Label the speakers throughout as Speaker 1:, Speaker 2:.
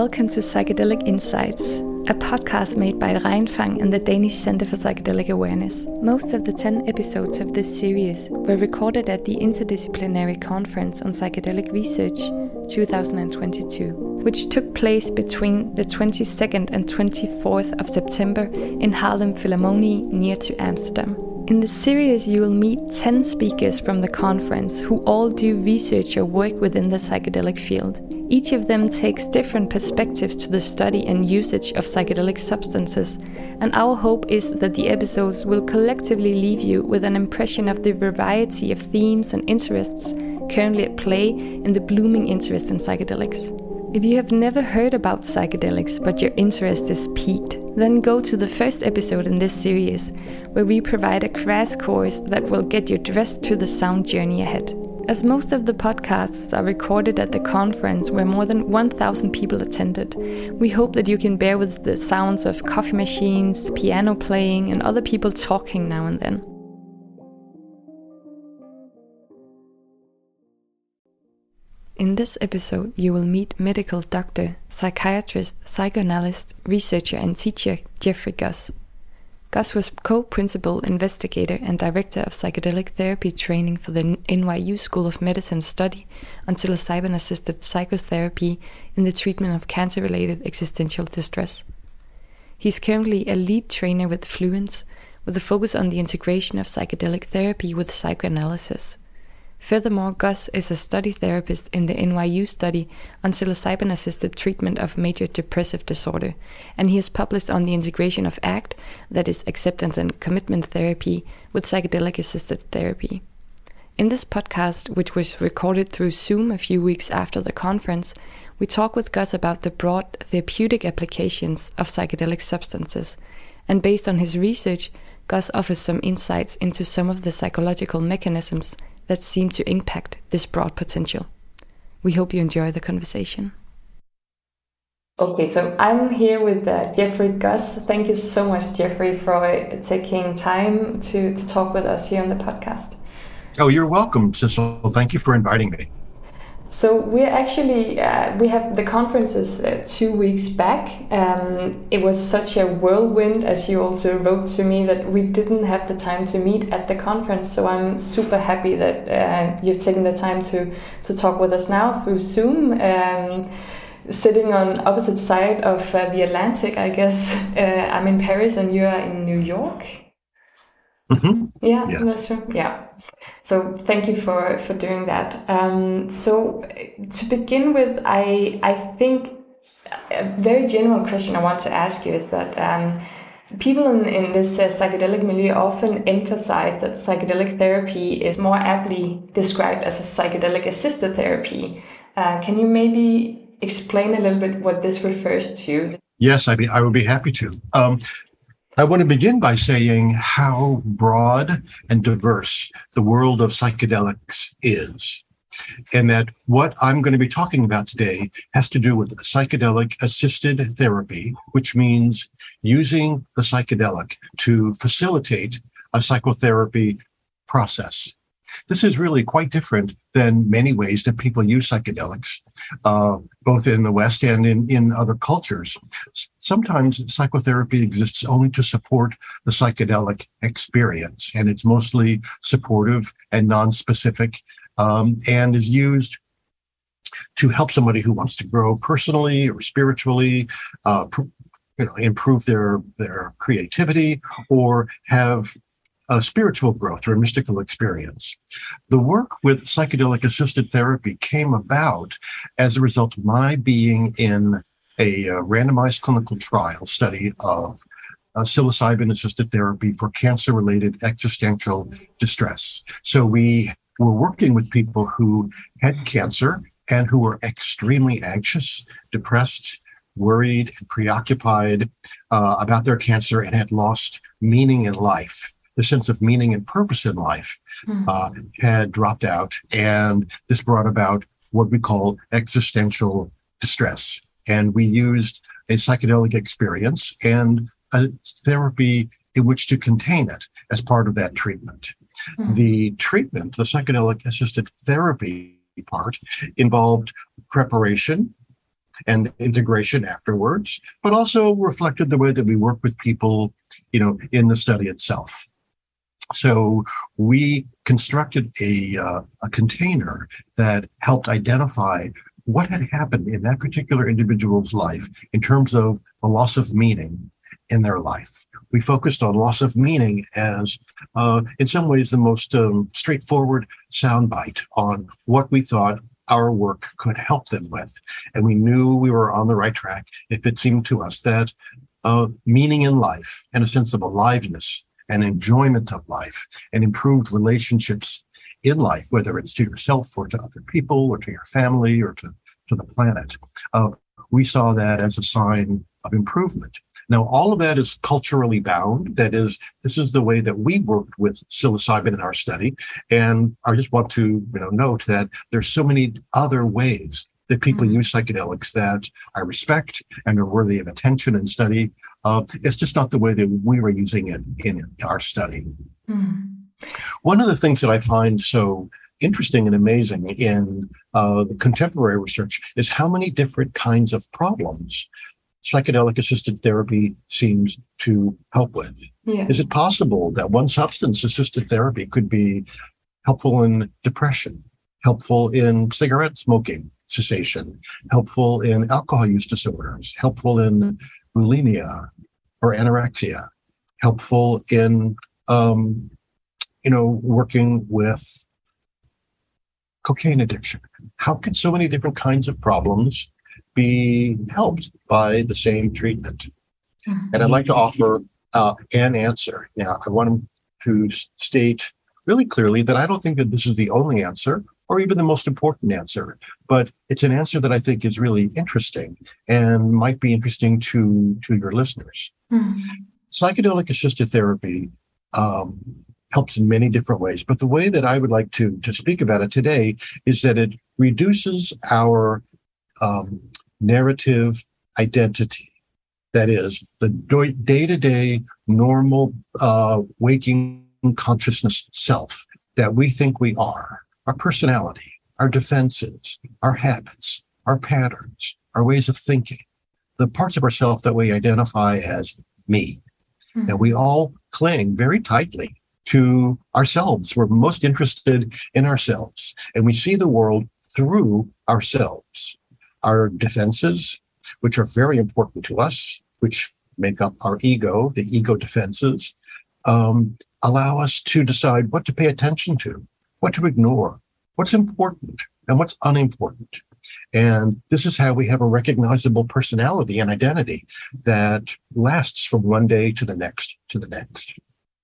Speaker 1: Welcome to Psychedelic Insights, a podcast made by Rein Fang and the Danish Center for Psychedelic Awareness. Most of the 10 episodes of this series were recorded at the Interdisciplinary Conference on Psychedelic Research 2022, which took place between the 22nd and 24th of September in Haarlem Philharmonie near to Amsterdam. In the series, you will meet 10 speakers from the conference who all do research or work within the psychedelic field. Each of them takes different perspectives to the study and usage of psychedelic substances, and our hope is that the episodes will collectively leave you with an impression of the variety of themes and interests currently at play in the blooming interest in psychedelics. If you have never heard about psychedelics but your interest is piqued, then go to the first episode in this series, where we provide a crash course that will get you dressed to the sound journey ahead. As most of the podcasts are recorded at the conference where more than 1,000 people attended, we hope that you can bear with the sounds of coffee machines, piano playing, and other people talking now and then. In this episode, you will meet medical doctor, psychiatrist, psychoanalyst, researcher and teacher Jeffrey Guss. Guss was co-principal investigator and director of psychedelic therapy training for the NYU School of Medicine study on psilocybin-assisted psychotherapy in the treatment of cancer-related existential distress. He's currently a lead trainer with Fluence, with a focus on the integration of psychedelic therapy with psychoanalysis. Furthermore, Guss is a study therapist in the NYU study on psilocybin-assisted treatment of major depressive disorder, and he has published on the integration of ACT, that is acceptance and commitment therapy, with psychedelic-assisted therapy. In this podcast, which was recorded through Zoom a few weeks after the conference, we talk with Guss about the broad therapeutic applications of psychedelic substances, and based on his research, Guss offers some insights into some of the psychological mechanisms that seem to impact this broad potential. We hope you enjoy the conversation. Okay, so I'm here with Jeffrey Guss. Thank you so much, Jeffrey, for taking time to talk with us here on the podcast.
Speaker 2: Oh, you're welcome, Sissel. Thank you for inviting me.
Speaker 1: So we're actually, we have the conferences 2 weeks back. It was such a whirlwind, as you also wrote to me, that we didn't have the time to meet at the conference. So I'm super happy that you've taken the time to talk with us now through Zoom. Sitting on opposite side of the Atlantic, I guess. I'm in Paris and you are in New York.
Speaker 2: Mm-hmm.
Speaker 1: Yeah,
Speaker 2: yes.
Speaker 1: That's true. Yeah. So thank you for doing that. So to begin with, I think a very general question I want to ask you is that people in this psychedelic milieu often emphasize that psychedelic therapy is more aptly described as a psychedelic assisted therapy. Can you maybe explain a little bit what this refers to?
Speaker 2: Yes, I would be happy to. I want to begin by saying how broad and diverse the world of psychedelics is, and that what I'm going to be talking about today has to do with psychedelic-assisted therapy, which means using the psychedelic to facilitate a psychotherapy process. This is really quite different than many ways that people use psychedelics, both in the West and in other cultures. Sometimes psychotherapy exists only to support the psychedelic experience, and it's mostly supportive and non-specific, and is used to help somebody who wants to grow personally or spiritually, improve their creativity, or have a spiritual growth or a mystical experience. The work with psychedelic-assisted therapy came about as a result of my being in a randomized clinical trial study of psilocybin-assisted therapy for cancer-related existential distress. So we were working with people who had cancer and who were extremely anxious, depressed, worried, and preoccupied about their cancer and had lost meaning in life. The sense of meaning and purpose in life had dropped out, and this brought about what we call existential distress. And we used a psychedelic experience and a therapy in which to contain it as part of that treatment. The treatment, the psychedelic-assisted therapy part, involved preparation, and integration afterwards, but also reflected the way that we work with people, in the study itself. So we constructed a container that helped identify what had happened in that particular individual's life in terms of the loss of meaning in their life. We focused on loss of meaning as, in some ways, the most straightforward soundbite on what we thought our work could help them with. And we knew we were on the right track if it seemed to us that meaning in life and a sense of aliveness and enjoyment of life and improved relationships in life, whether it's to yourself or to other people or to your family or to the planet, we saw that as a sign of improvement. Now, all of that is culturally bound. That is, this is the way that we worked with psilocybin in our study. And I just want to note that there's so many other ways that people use psychedelics that I respect and are worthy of attention and study. It's just not the way that we were using it in our study. One of the things that I find so interesting and amazing in the contemporary research is how many different kinds of problems psychedelic-assisted therapy seems to help with. Yeah. Is it possible that one substance-assisted therapy could be helpful in depression, helpful in cigarette smoking cessation, helpful in alcohol use disorders, helpful in bulimia or anorexia, helpful in, working with cocaine addiction? How can so many different kinds of problems be helped by the same treatment? And I'd like to offer an answer. Now, I want to state really clearly that I don't think that this is the only answer or even the most important answer, but it's an answer that I think is really interesting and might be interesting to your listeners. Psychedelic-assisted therapy helps in many different ways, but the way that I would like to speak about it today is that it reduces our narrative identity. That is, the day-to-day normal waking consciousness self that we think we are, our personality, our defenses, our habits, our patterns, our ways of thinking, the parts of ourself that we identify as me. Now, we all cling very tightly to ourselves. We're most interested in ourselves, and we see the world through ourselves. Our defenses, which are very important to us, which make up our ego, the ego defenses, allow us to decide what to pay attention to, what to ignore, what's important and what's unimportant. And this is how we have a recognizable personality and identity that lasts from one day to the next to the next.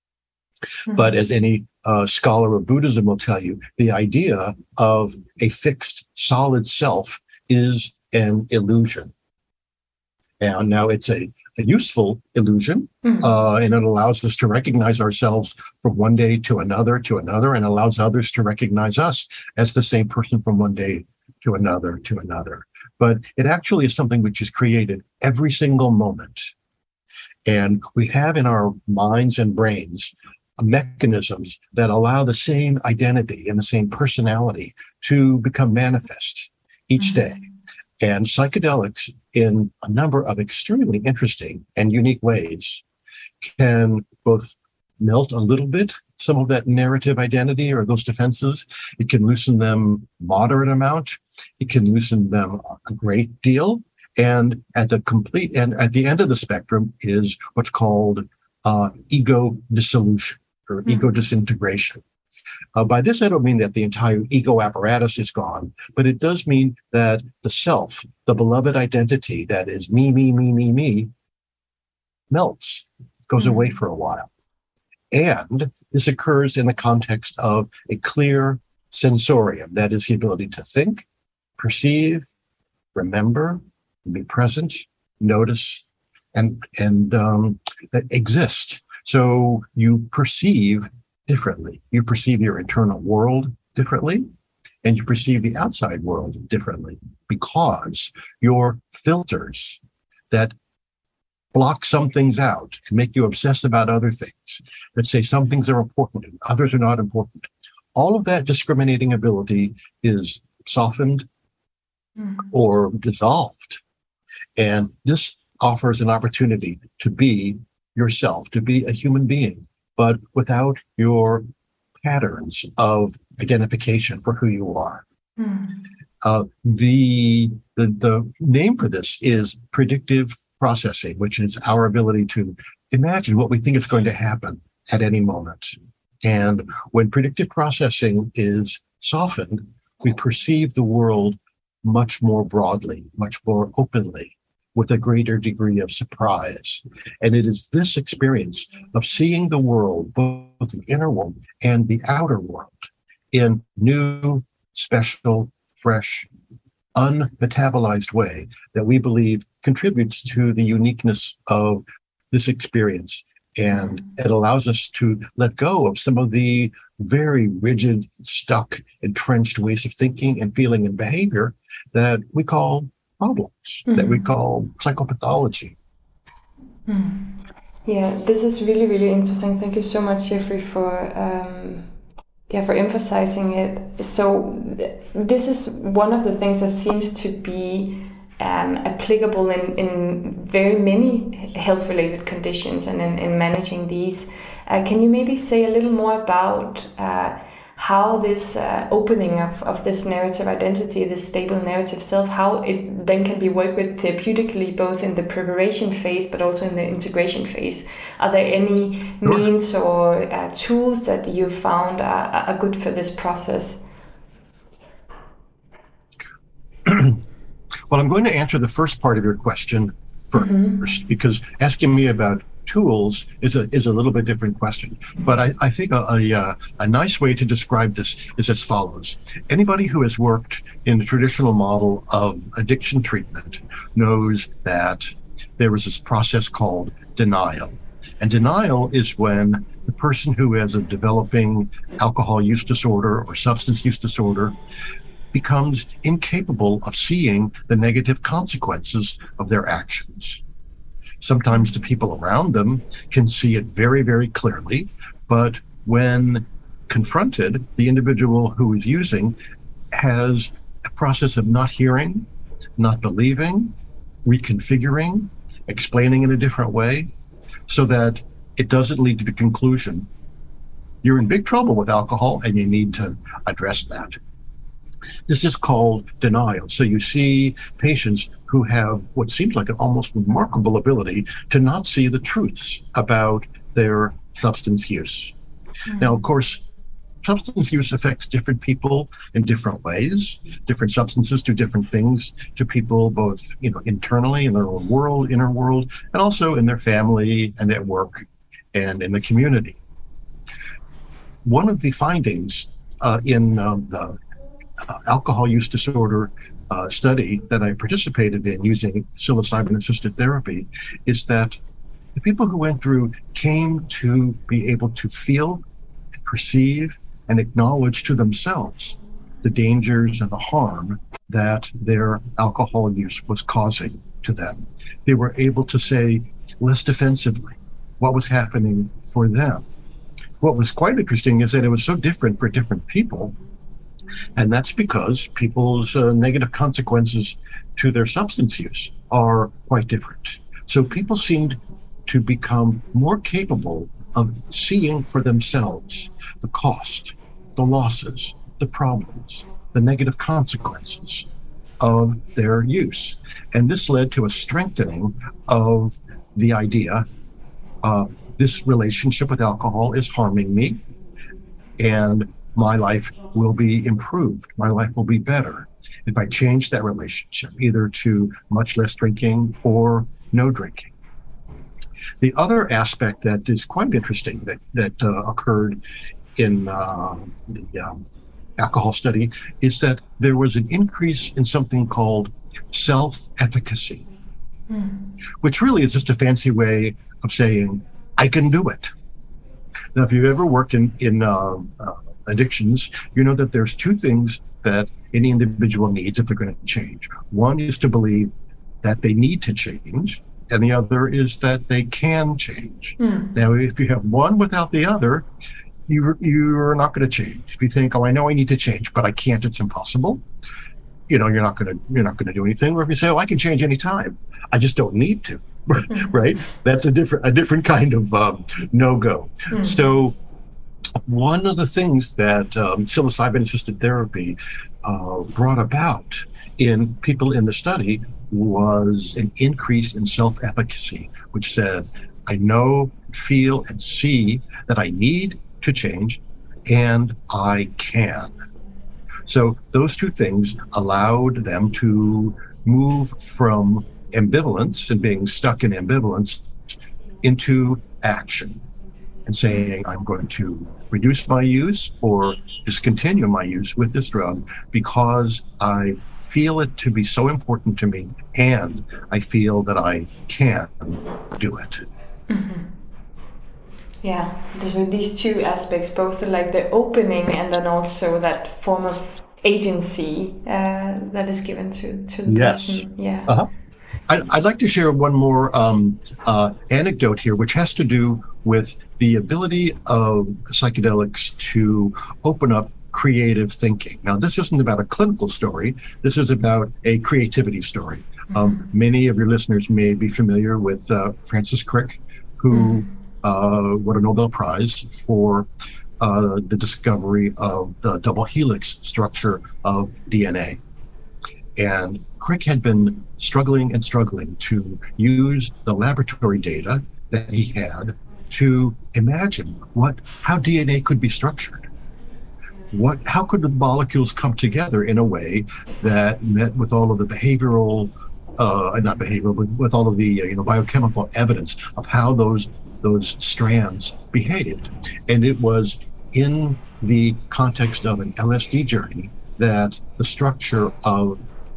Speaker 2: But as any scholar of Buddhism will tell you, the idea of a fixed, solid self is an illusion. And now it's a useful illusion, and it allows us to recognize ourselves from one day to another, and allows others to recognize us as the same person from one day to another, But it actually is something which is created every single moment. And we have in our minds and brains mechanisms that allow the same identity and the same personality to become manifest each day. And psychedelics, in a number of extremely interesting and unique ways, can both melt a little bit some of that narrative identity or those defenses. It can loosen them moderate amount. It can loosen them a great deal. And at the end of the spectrum is what's called ego dissolution or ego disintegration. By this, I don't mean that the entire ego apparatus is gone, but it does mean that the self, the beloved identity that is me, melts, goes away for a while. And this occurs in the context of a clear sensorium, that is the ability to think, perceive, remember, be present, notice, and exist. So you perceive differently. You perceive your internal world differently, and you perceive the outside world differently because your filters that block some things out and make you obsess about other things, that say some things are important and others are not important. All of that discriminating ability is softened, or dissolved. And this offers an opportunity to be yourself, to be a human being, but without your patterns of identification for who you are. The name for this is predictive processing, which is our ability to imagine what we think is going to happen at any moment. And when predictive processing is softened, we perceive the world much more broadly, much more openly, with a greater degree of surprise. And it is this experience of seeing the world, both the inner world and the outer world, in new, special, fresh, unmetabolized way that we believe contributes to the uniqueness of this experience. And it allows us to let go of some of the very rigid, stuck, entrenched ways of thinking and feeling and behavior that we call problems, that we call psychopathology.
Speaker 1: Yeah, this is really, really interesting. Thank you so much, Jeffrey, for emphasizing it. So this is one of the things that seems to be applicable in very many health-related conditions and in managing these. Can you maybe say a little more about how this opening of this narrative identity, this stable narrative self, how it then can be worked with therapeutically, both in the preparation phase but also in the integration phase? Are there any means or tools that you found are good for this process?
Speaker 2: Well, I'm going to answer the first part of your question first, because asking me about tools is a little bit different question. But I think a nice way to describe this is as follows. Anybody who has worked in the traditional model of addiction treatment knows that there is this process called denial. And denial is when the person who has a developing alcohol use disorder or substance use disorder becomes incapable of seeing the negative consequences of their actions. Sometimes the people around them can see it very, very clearly, but when confronted, the individual who is using has a process of not hearing, not believing, reconfiguring, explaining in a different way, so that it doesn't lead to the conclusion, you're in big trouble with alcohol and you need to address that. This is called denial. So you see patients who have what seems like an almost remarkable ability to not see the truths about their substance use. Now, of course, substance use affects different people in different ways. Different substances do different things to people, both internally in their own world, inner world, and also in their family and at work and in the community. One of the findings in the alcohol use disorder study that I participated in using psilocybin-assisted therapy is that the people who went through came to be able to feel, perceive, and acknowledge to themselves the dangers and the harm that their alcohol use was causing to them. They were able to say less defensively what was happening for them. What was quite interesting is that it was so different for different people. And that's because people's negative consequences to their substance use are quite different. So people seemed to become more capable of seeing for themselves the cost, the losses, the problems, the negative consequences of their use. And this led to a strengthening of the idea this relationship with alcohol is harming me, and my life will be improved. My life will be better if I change that relationship, either to much less drinking or no drinking. The other aspect that is quite interesting that occurred in the alcohol study is that there was an increase in something called self-efficacy, which really is just a fancy way of saying, I can do it. Now, if you've ever worked in addictions, you know that there's two things that any individual needs if they're going to change. One is to believe that they need to change, and the other is that they can change. Now, if you have one without the other, you're not going to change. If you think, oh, I know I need to change, but I can't, it's impossible, you're not gonna do anything. Or if you say, "Oh, I can change any time, I just don't need to," right? That's a different kind of no-go.
Speaker 1: Mm-hmm.
Speaker 2: So one of the things that psilocybin-assisted therapy brought about in people in the study was an increase in self-efficacy, which said, I know, feel, and see that I need to change, and I can. So those two things allowed them to move from ambivalence and being stuck in ambivalence into action and saying, I'm going to reduce my use or discontinue my use with this drug because I feel it to be so important to me and I feel that I can do it.
Speaker 1: Mm-hmm. Yeah, there's these two aspects, both like the opening and then also that form of agency that is given to the person. Yeah.
Speaker 2: Uh-huh. I'd like to share one more anecdote here, which has to do with the ability of psychedelics to open up creative thinking. Now, this isn't about a clinical story. This is about a creativity story. Many of your listeners may be familiar with Francis Crick, who won a Nobel Prize for the discovery of the double helix structure of DNA. And Crick had been struggling to use the laboratory data that he had to imagine how DNA could be structured. How could the molecules come together in a way that met with all of the behavioral, not behavioral, but with all of the biochemical evidence of how those strands behaved. And it was in the context of an LSD journey that the structure of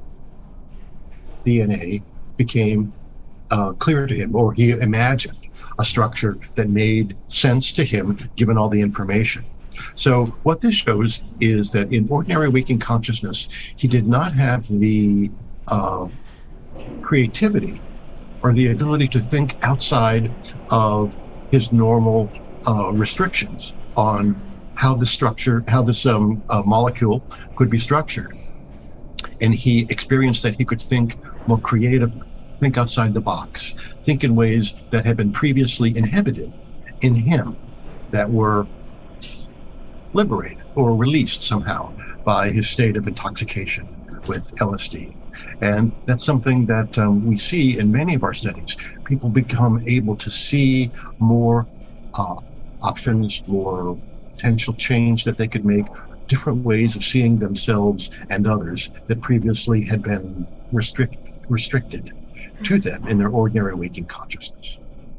Speaker 2: DNA became clear to him, or he imagined a structure that made sense to him given all the information. So what this shows is that in ordinary waking consciousness, he did not have the creativity or the ability to think outside of his normal restrictions on how this molecule could be structured. And he experienced that he could think more creatively, think outside the box, think in ways that had been previously inhibited in him, that were liberated or released somehow by his state of intoxication with LSD. And that's something that we see in many of our studies. People become able to see more options, more potential change that they could make, different ways of seeing themselves and others that previously had been restricted to them in their ordinary waking consciousness.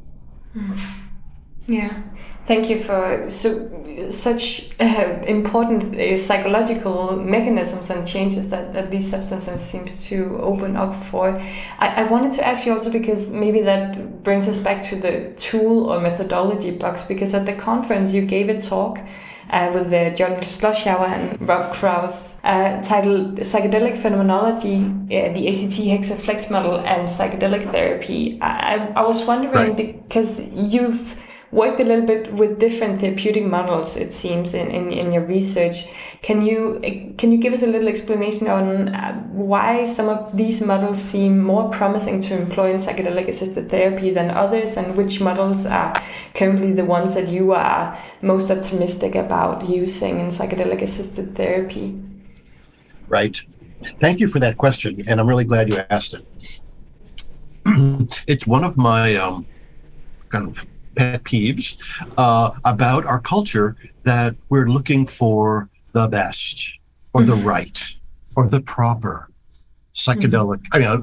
Speaker 1: Yeah, thank you for such important psychological mechanisms and changes that these substances seems to open up for. I wanted to ask you also, because maybe that brings us back to the tool or methodology box, because at the conference you gave a talk with John Schlossauer and Rob Krauss, titled Psychedelic Phenomenology, the ACT Hexaflex Model and Psychedelic Therapy. I was wondering, because you've worked a little bit with different therapeutic models, it seems, in your research. Can you give us a little explanation on why some of these models seem more promising to employ in psychedelic-assisted therapy than others, and which models are currently the ones that you are most optimistic about using in psychedelic-assisted therapy?
Speaker 2: Right. Thank you for that question, and I'm really glad you asked it. It's one of my kind of pet peeves about our culture, that we're looking for the best or the right or the proper psychological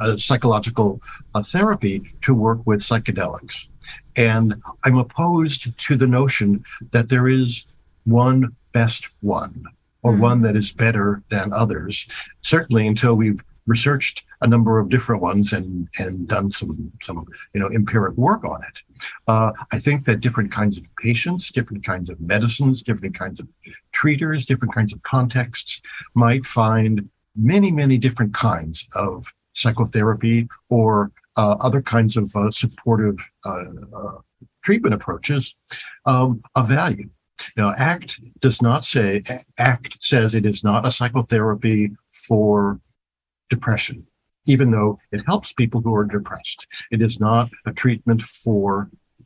Speaker 2: therapy to work with psychedelics. And I'm opposed to the notion that there is one best one or one that is better than others, certainly until we've researched a number of different ones and done some empiric work on it. I think that different kinds of patients, different kinds of medicines, different kinds of treaters, different kinds of contexts might find many, many different kinds of psychotherapy or other kinds of supportive treatment approaches of value. Now, ACT says it is not a psychotherapy for depression, even though it helps people who are depressed. It is not a treatment for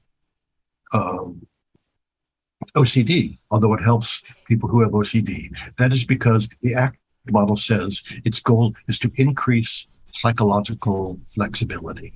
Speaker 2: OCD, although it helps people who have OCD. That is because the ACT model says its goal is to increase psychological flexibility.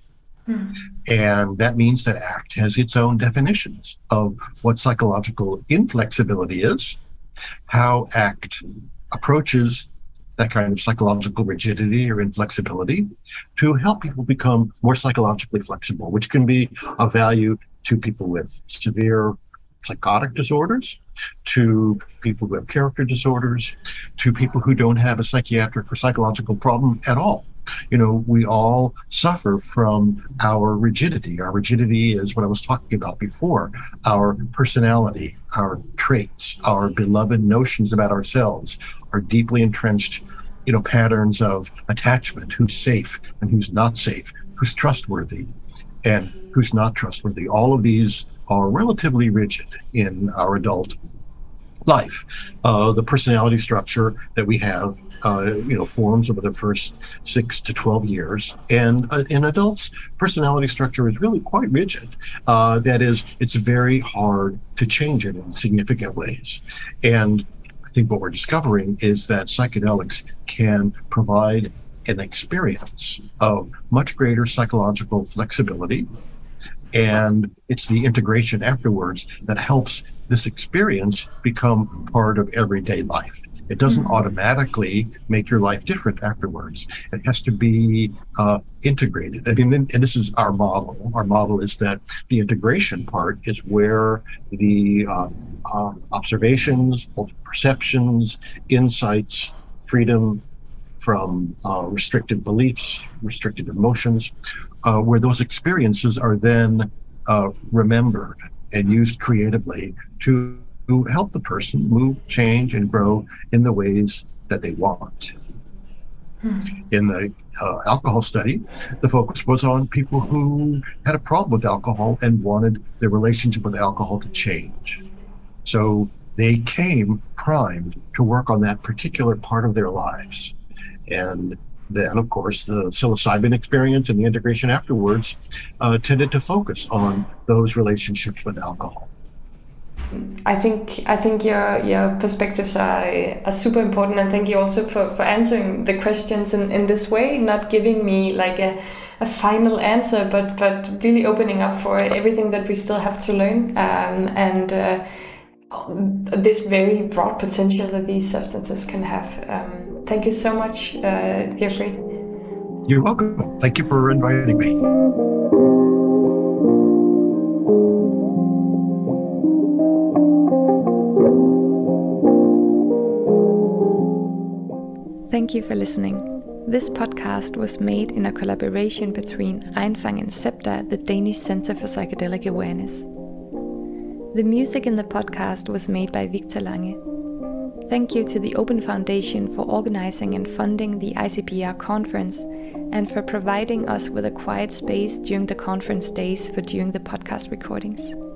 Speaker 2: And that means that ACT has its own definitions of what psychological inflexibility is, how ACT approaches that kind of psychological rigidity or inflexibility to help people become more psychologically flexible, which can be of value to people with severe psychotic disorders, to people who have character disorders, to people who don't have a psychiatric or psychological problem at all. You know, we all suffer from our rigidity. Our rigidity is what I was talking about before, our personality, our traits, our beloved notions about ourselves, our deeply entrenched, patterns of attachment, who's safe and who's not safe, who's trustworthy and who's not trustworthy. All of these are relatively rigid in our adult life. The personality structure that we have forms over the first 6 to 12 years. And in adults, personality structure is really quite rigid. That is, it's very hard to change it in significant ways. And I think what we're discovering is that psychedelics can provide an experience of much greater psychological flexibility. And it's the integration afterwards that helps this experience become part of everyday life. It doesn't automatically make your life different afterwards. It has to be integrated. I mean, and this is our model. Our model is that the integration part is where the observations, perceptions, insights, freedom from restricted beliefs, restricted emotions, where those experiences are then remembered and used creatively to help the person move, change, and grow in the ways that they want. In the alcohol study, the focus was on people who had a problem with alcohol and wanted their relationship with alcohol to change. So they came primed to work on that particular part of their lives. And then, of course, the psilocybin experience and the integration afterwards tended to focus on those relationships with alcohol.
Speaker 1: I think your perspectives are super important, and thank you also for answering the questions in this way, not giving me like a final answer, but really opening up for everything that we still have to learn, and this very broad potential that these substances can have. Thank you so much, Jeffrey.
Speaker 2: You're welcome. Thank you for inviting me.
Speaker 1: Thank you for listening. This podcast was made in a collaboration between Reinfang and CEPTA, the Danish Center for Psychedelic Awareness. The music in the podcast was made by Victor Lange. Thank you to the Open Foundation for organizing and funding the ICPR conference and for providing us with a quiet space during the conference days for doing the podcast recordings.